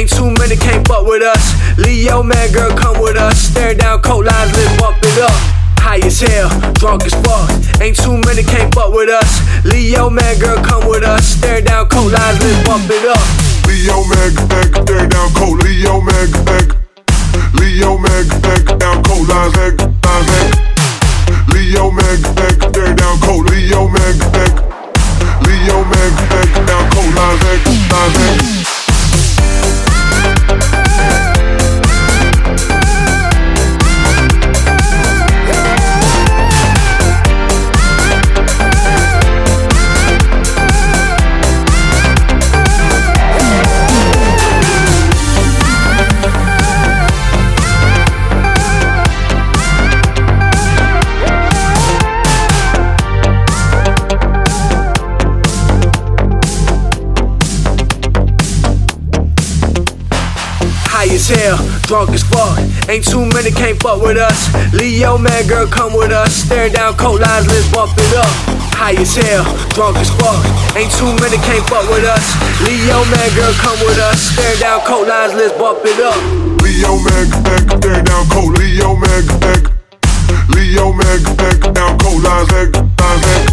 Ain't too many can't butt with us. Leo, man, girl, come with us. Staring down coat lines, let's bump it up. High as hell, drunk as fuck. Ain't too many can't butt with us. Leo, man, girl, come with us. Staring down coat lines, let's bump it up. Leo, man, staring down coat. Leo, man, Leo, man, down coat lines, Leo, man, staring down coat. Leo, man, down coat lines, High as hell, drunk as fuck. Ain't too many can't fuck with us. Leo, man, girl, come with us. Staring down coat lines, let's bump it up. High as hell, drunk as fuck. Ain't too many can't fuck with us. Leo, man, girl, come with us. Staring down coat lines, let's bump it up. Leo, man, staring down coat. Leo, man, down coat lines,